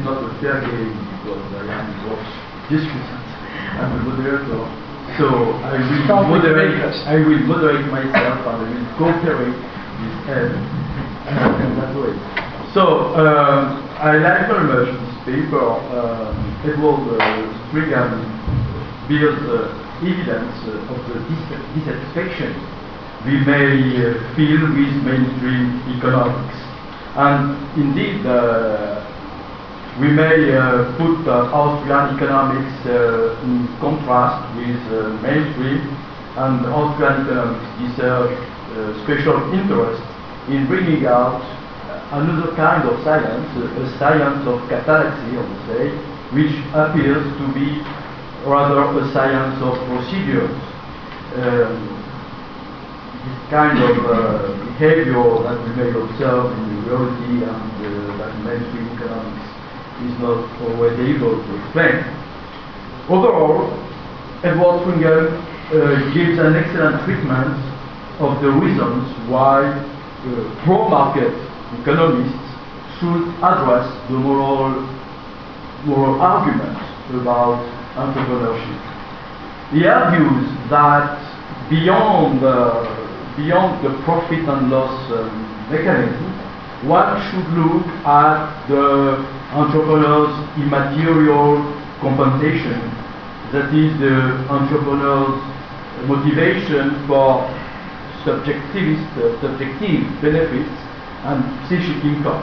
not a fair game because I am both discussant and the moderator. So I will moderate myself and I will cooperate with Ed in that way. So I like very much this paper. Edward Stringham builds evidence of the dissatisfaction we may feel with mainstream economics. And indeed, we may put Austrian economics in contrast with mainstream, and Austrian economics deserve special interest in bringing out another kind of science, a science of catalepsy, I would say, which appears to be rather a science of procedures. This kind of behavior that we may observe in reality and that mainstream economics is not always able to explain. Overall, Edward Stringham gives an excellent treatment of the reasons why pro-market economists should address the moral arguments about entrepreneurship. He argues that beyond the profit and loss mechanism, one should look at the entrepreneur's immaterial compensation, that is the entrepreneur's motivation for subjective benefits and psychic income.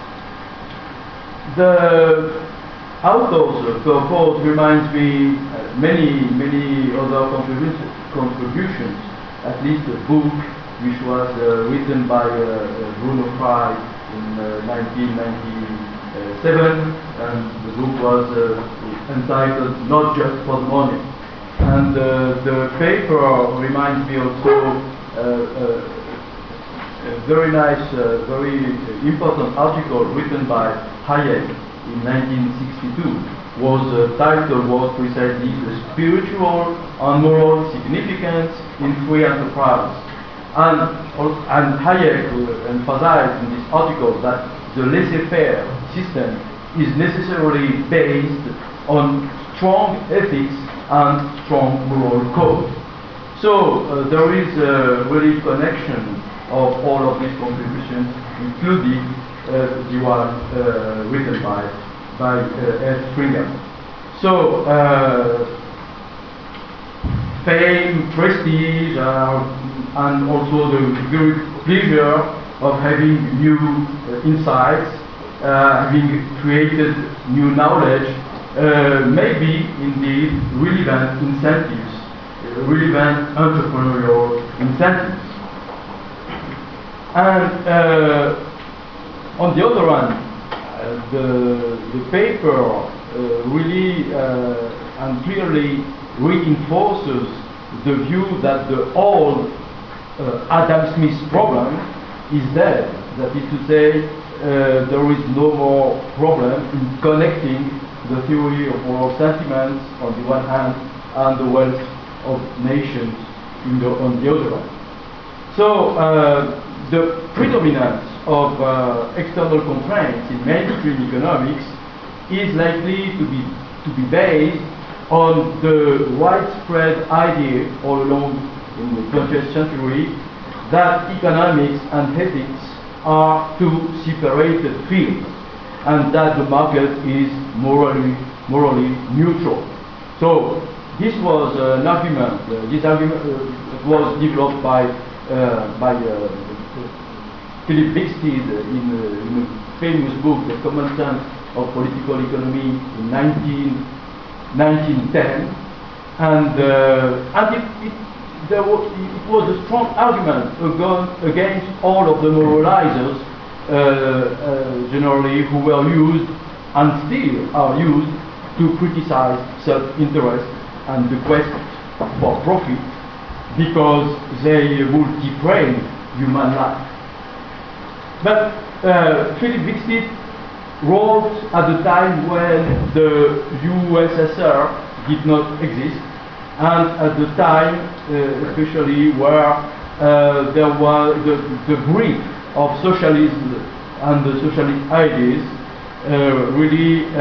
The author's purpose reminds me many other contributions, at least a book which was written by Bruno Frey in 1997, and the book was entitled Not Just for the Money. And the paper reminds me also a very nice, very important article written by Hayek in 1962. Title was precisely The Spiritual and Moral Significance in Free Enterprise. And Hayek emphasized in this article that the laissez-faire system is necessarily based on strong ethics and strong moral code. So there is a really connection of all of these contributions, including the one written by Ed Stringham. So fame, prestige, and also the very pleasure of having new insights, having created new knowledge, may be indeed relevant incentives, relevant entrepreneurial incentives. And on the other hand, the paper really and clearly reinforces the view that the old Adam Smith problem is dead. That is to say, there is no more problem in connecting the theory of moral sentiments on the one hand and the wealth of nations on the other hand. So the predominance of external constraints in mainstream economics is likely to be based on the widespread idea all along in the 20th century that economics and ethics are two separated fields, and that the market is morally neutral. So this was an argument. This argument was developed by Philip Bixted in a famous book, The Common Sense of Political Economy, in 1910, and it was a strong argument against all of the moralizers, generally, who were used and still are used to criticize self-interest and the quest for profit, because they would degrade human life. But Philip Bixted wrote at the time when the USSR did not exist, and at the time especially where there was the brief of socialism and the socialist ideas really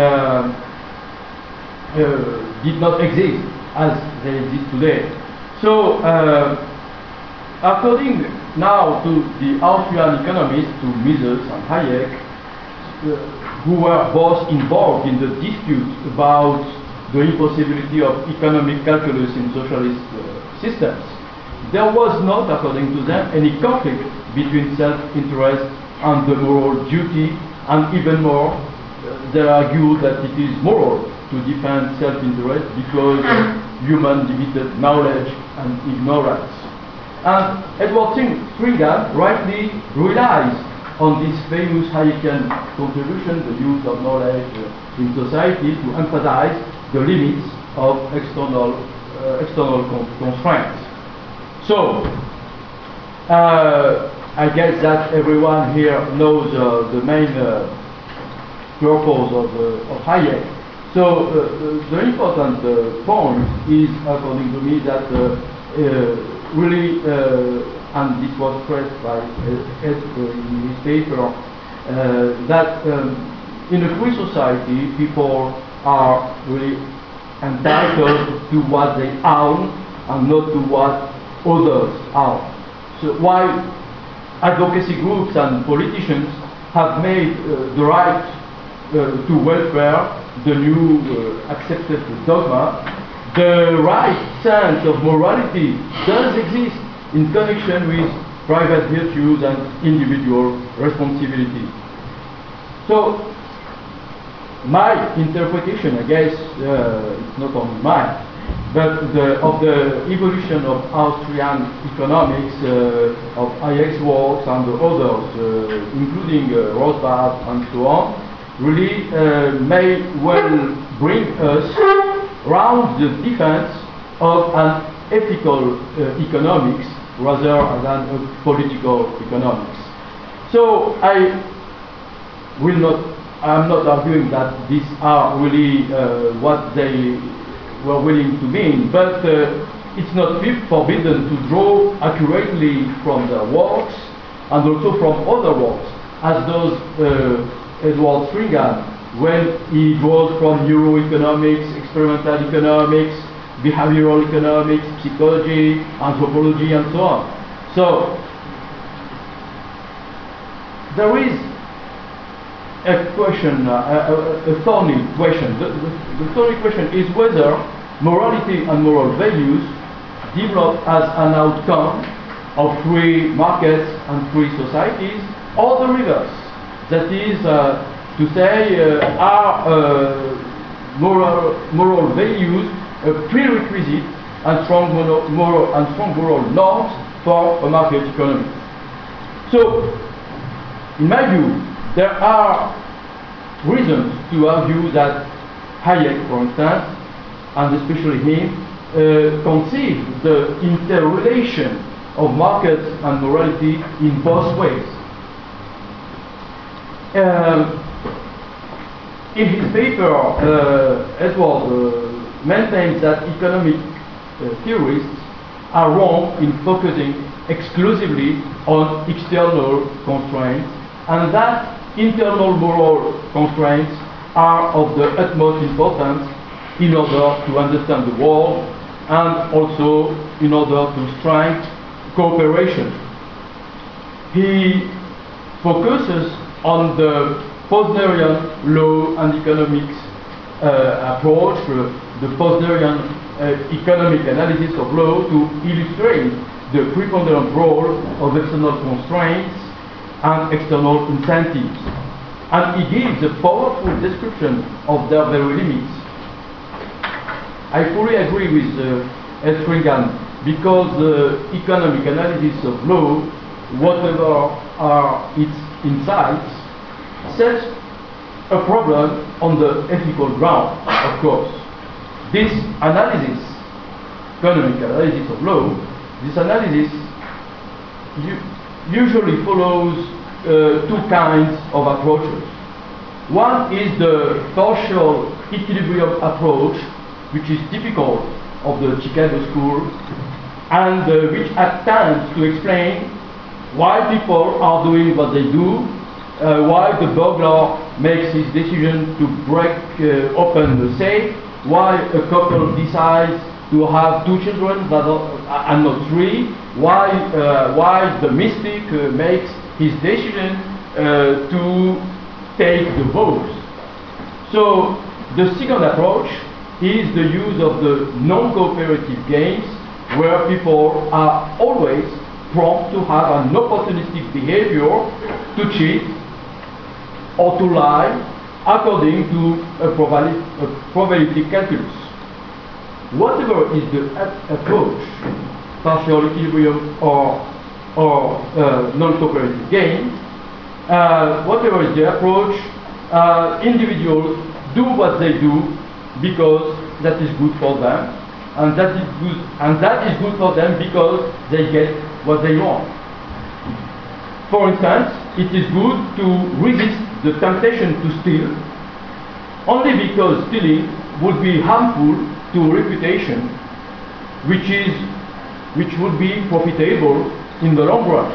did not exist as they exist today. So, according now to the Austrian economists, to Mises and Hayek, who were both involved in the dispute about the impossibility of economic calculus in socialist systems, there was not, according to them, any conflict between self-interest and the moral duty, and even more, they argue that it is moral to defend self-interest because of human limited knowledge and ignorance. And Edward Stringham rightly relies on this famous Hayekian contribution, the use of knowledge in society, to emphasize the limits of external constraints. So, I guess that everyone here knows the main purpose of Hayek. So, the important point is, according to me, that really, and this was stressed by Ed in his paper, that in a free society, people are really entitled to what they own and not to what others own. So while advocacy groups and politicians have made the right to welfare the new accepted dogma, the right sense of morality does exist in connection with private virtues and individual responsibility. So, my interpretation, I guess, it's not only mine, but of the evolution of Austrian economics, of Hayek's works and the others, including Rothbard and so on, really may well bring us round the defense of an ethical economics rather than a political economics. So I'm not arguing that these are really what they were willing to mean, but it's not forbidden to draw accurately from their works and also from other works, as does Edward Stringham when he draws from neuroeconomics, experimental economics, behavioral economics, psychology, anthropology, and so on. So, there is a question, a thorny question. The thorny question is whether morality and moral values develop as an outcome of free markets and free societies, or the reverse. That is to say, are moral values a prerequisite and strong moral norms for a market economy. So, in my view, there are reasons to argue that Hayek, for instance, and especially him, conceived the interrelation of markets and morality in both ways. In his paper, Edward maintains that economic theorists are wrong in focusing exclusively on external constraints, and that internal moral constraints are of the utmost importance in order to understand the world and also in order to strengthen cooperation. He focuses on the Posnerian law and economics approach, the Posnerian economic analysis of law, to illustrate the preponderant role of external constraints and external incentives. And he gives a powerful description of their very limits. I fully agree with Ed Stringham, because the economic analysis of law, whatever are its insights, sets a problem on the ethical ground, of course. This analysis, economic analysis of law, this analysis usually follows two kinds of approaches. One is the partial equilibrium approach, which is typical of the Chicago School, and which attempts to explain why people are doing what they do, why the burglar makes his decision to break open the safe, why a couple decides to have 2 children and not 3, why the mystic makes his decision to take the vows. So the second approach is the use of the non-cooperative games, where people are always prompt to have an opportunistic behavior, to cheat or to lie according to a probability calculus. Whatever is the approach, partial equilibrium or non-cooperative game, whatever is the approach, individuals do what they do because that is good for them, and that is good for them because they get what they want. For instance, it is good to resist the temptation to steal only because stealing would be harmful to reputation, which would be profitable in the long run.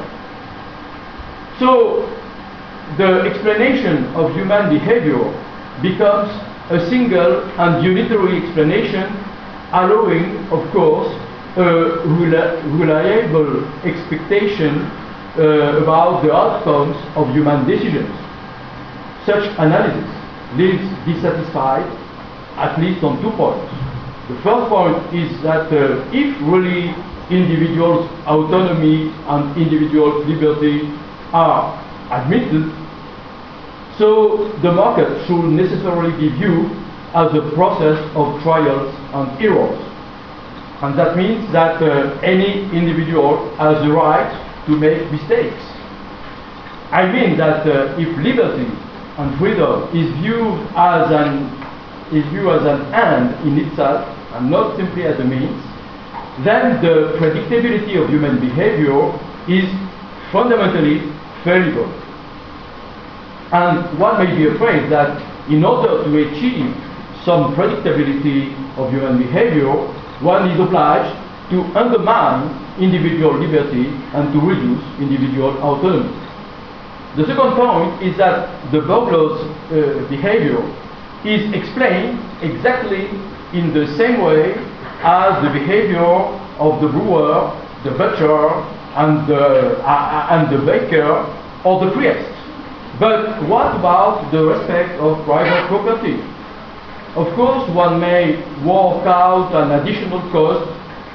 So the explanation of human behavior becomes a single and unitary explanation, allowing, of course, a reliable expectation about the outcomes of human decisions. Such analysis leaves dissatisfied at least on 2 points. The first point is that if really individuals' autonomy and individual liberty are admitted, so the market should necessarily be viewed as a process of trials and errors. And that means that any individual has the right to make mistakes. I mean that if liberty and freedom is viewed as an end in itself and not simply as a means, then the predictability of human behavior is fundamentally fallible. And one may be afraid that in order to achieve some predictability of human behavior, one is obliged to undermine individual liberty and to reduce individual autonomy. The second point is that the burglar's behavior is explained exactly in the same way as the behavior of the brewer, the butcher, and the baker or the priest. But what about the respect of private property? Of course, one may work out an additional cost,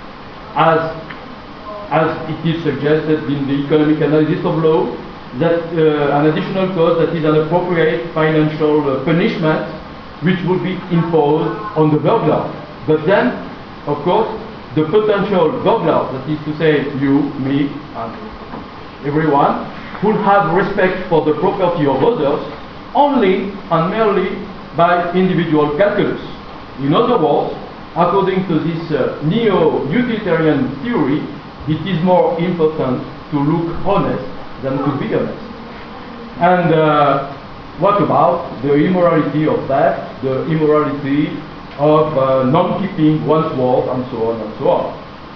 as it is suggested in the economic analysis of law, that an additional cost that is an appropriate financial punishment which would be imposed on the burglar. But then, of course, the potential burglar, that is to say you, me, and everyone, would have respect for the property of others only and merely by individual calculus. In other words, according to this neo-utilitarian theory, it is more important to look honest than to be honest. And what about the immorality of theft, the immorality of non-keeping one's word, and so on and so on?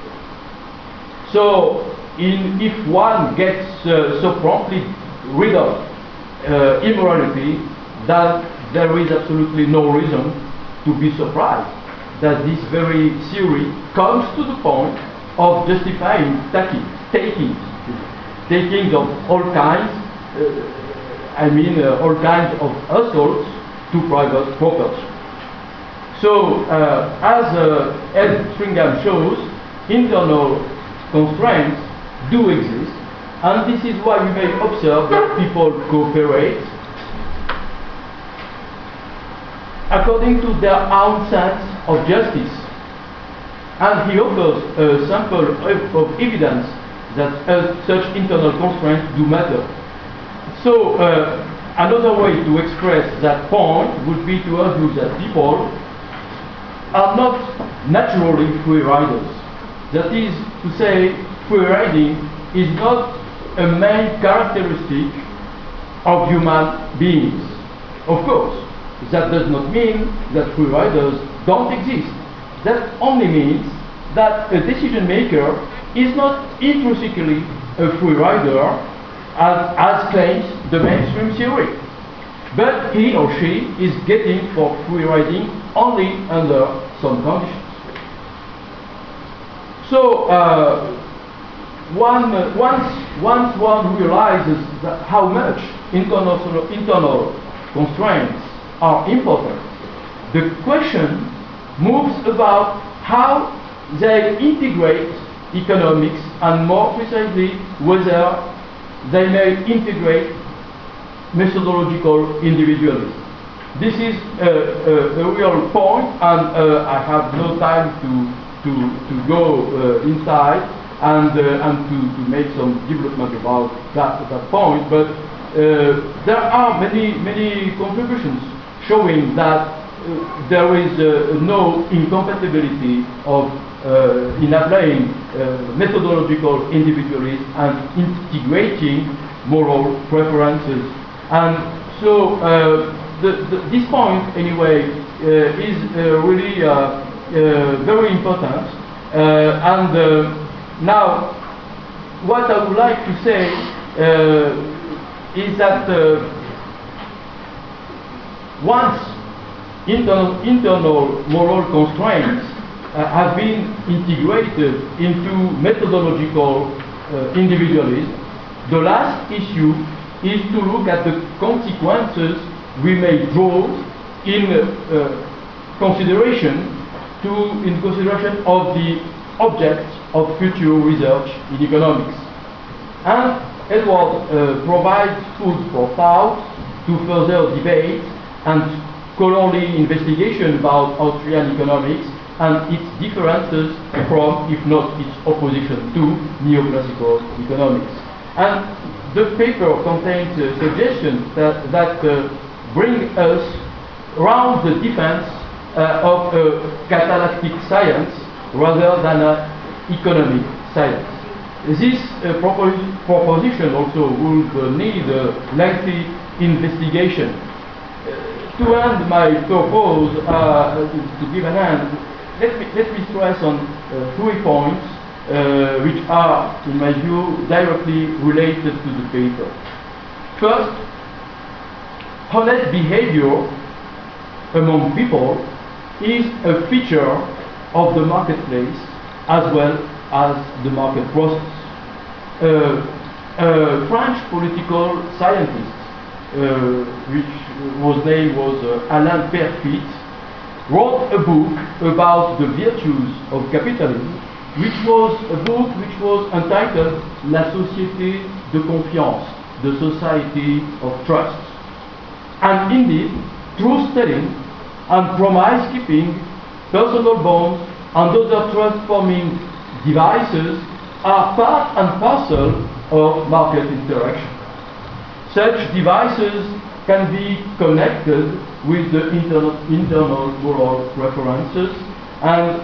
So, if one gets so promptly rid of immorality, then there is absolutely no reason to be surprised that this very theory comes to the point of justifying takings of all kinds, all kinds of assaults to private property. So, as Ed Stringham shows, internal constraints do exist, and this is why we may observe that people cooperate according to their own sense of justice. And he offers a sample of evidence that such internal constraints do matter. So another way to express that point would be to argue that people are not naturally free riders. That is to say, free riding is not a main characteristic of human beings. Of course, that does not mean that free riders don't exist. That only means that a decision maker is not intrinsically a free rider, as claims the mainstream theory. but he or she is getting for free riding only under some conditions. So once one realizes that how much internal constraints are important, the question moves about how they integrate economics, and more precisely whether they may integrate methodological individualism. This is a real point, and I have no time to go inside and to make some development about that point, but there are many contributions showing that there is no incompatibility of in applying methodological individualism and integrating moral preferences. And so this point, anyway, is really very important. Now, what I would like to say is that once internal moral constraints have been integrated into methodological individualism, the last issue is to look at the consequences we may draw in consideration of the objects of future research in economics. And Edward provides food for thought to further debate and scholarly investigation about Austrian economics and its differences from, if not its opposition to, neoclassical economics. And the paper contains suggestions that bring us around the defense of a catalactic science rather than an economic science. This proposition also would need a lengthy investigation. To end my purpose, to give an end, let me stress on 3 points which are, in my view, directly related to the paper. First, honest behavior among people is a feature of the marketplace as well as the market process. A French political scientist, whose name was Alain Perfit, wrote a book about the virtues of capitalism, which was a book which was entitled La Société de Confiance, the Society of Trust. And indeed, truth-telling and promise-keeping, personal bonds, and other trust-forming devices are part and parcel of market interaction. Such devices can be connected with the internal moral preferences and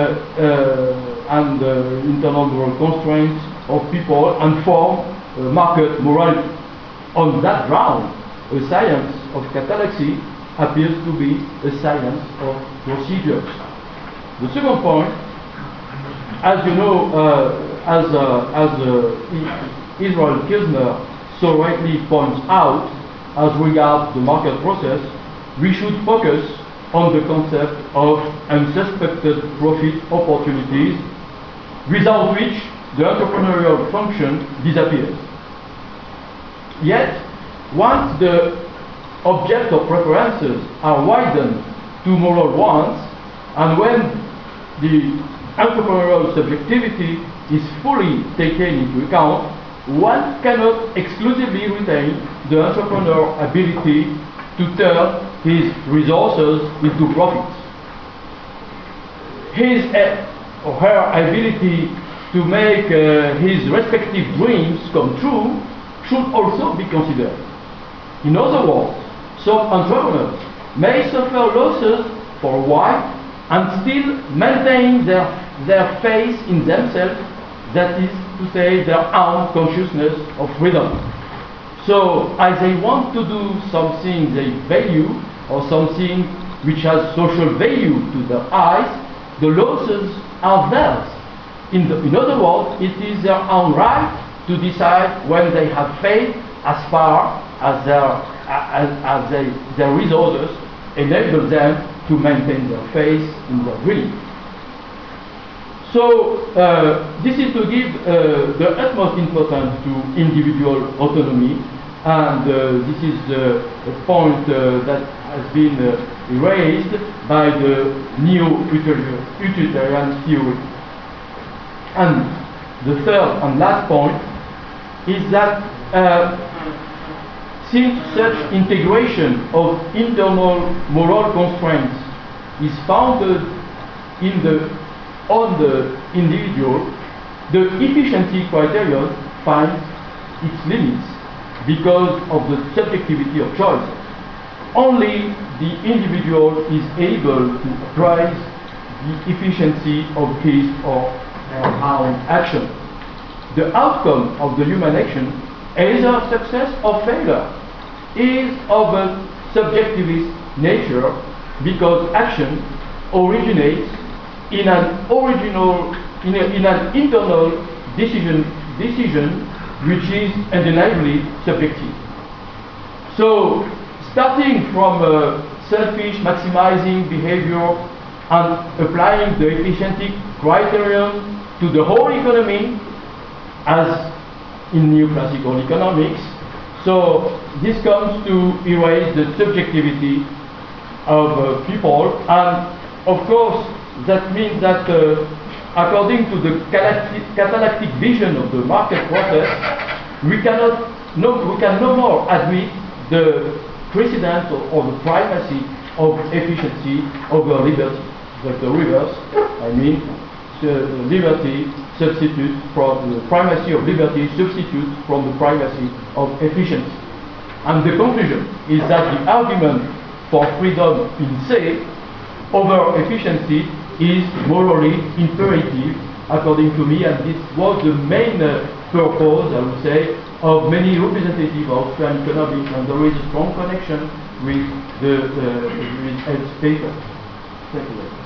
internal moral constraints of people and form market morality. On that ground, a science of catallaxy appears to be a science of procedures. The second point, as you know, as Israel Kirzner so rightly points out, as regards the market process, we should focus on the concept of unsuspected profit opportunities, without which the entrepreneurial function disappears. Yet, once the object of preferences are widened to moral ones, and when the entrepreneurial subjectivity is fully taken into account, one cannot exclusively retain the entrepreneur's ability to turn his resources into profits. His or her ability to make his respective dreams come true should also be considered. In other words, some entrepreneurs may suffer losses for a while and still maintain their faith in themselves, that is to say, their own consciousness of freedom. So, as they want to do something they value, or something which has social value to their eyes, the losses are theirs. In other words, it is their own right to decide when they have failed as far as their resources enable them to maintain their faith in their dream. So this is to give the utmost importance to individual autonomy, and this is a point that has been raised by the neo-utilitarian theory. And the third and last point is that since such integration of internal moral constraints is founded on the individual, the efficiency criterion finds its limits because of the subjectivity of choice. Only the individual is able to appraise the efficiency of his or her own action. The outcome of the human action, either success or failure, is of a subjectivist nature because action originates in an internal decision which is undeniably subjective. So, starting from selfish maximizing behavior and applying the efficiency criterion to the whole economy, as in neoclassical economics, so this comes to erase the subjectivity of people, and of course that means that according to the catalactic vision of the market process, we can no more admit the precedence or the primacy of efficiency over liberty. But the reverse, I mean, liberty substitutes from the primacy of liberty substitutes from the primacy of efficiency. And the conclusion is that the argument for freedom in se over efficiency is morally imperative, according to me, and this was the main purpose, I would say, of many representatives of Austrian economics, and there is a strong connection with the with Ed's paper. Thank you.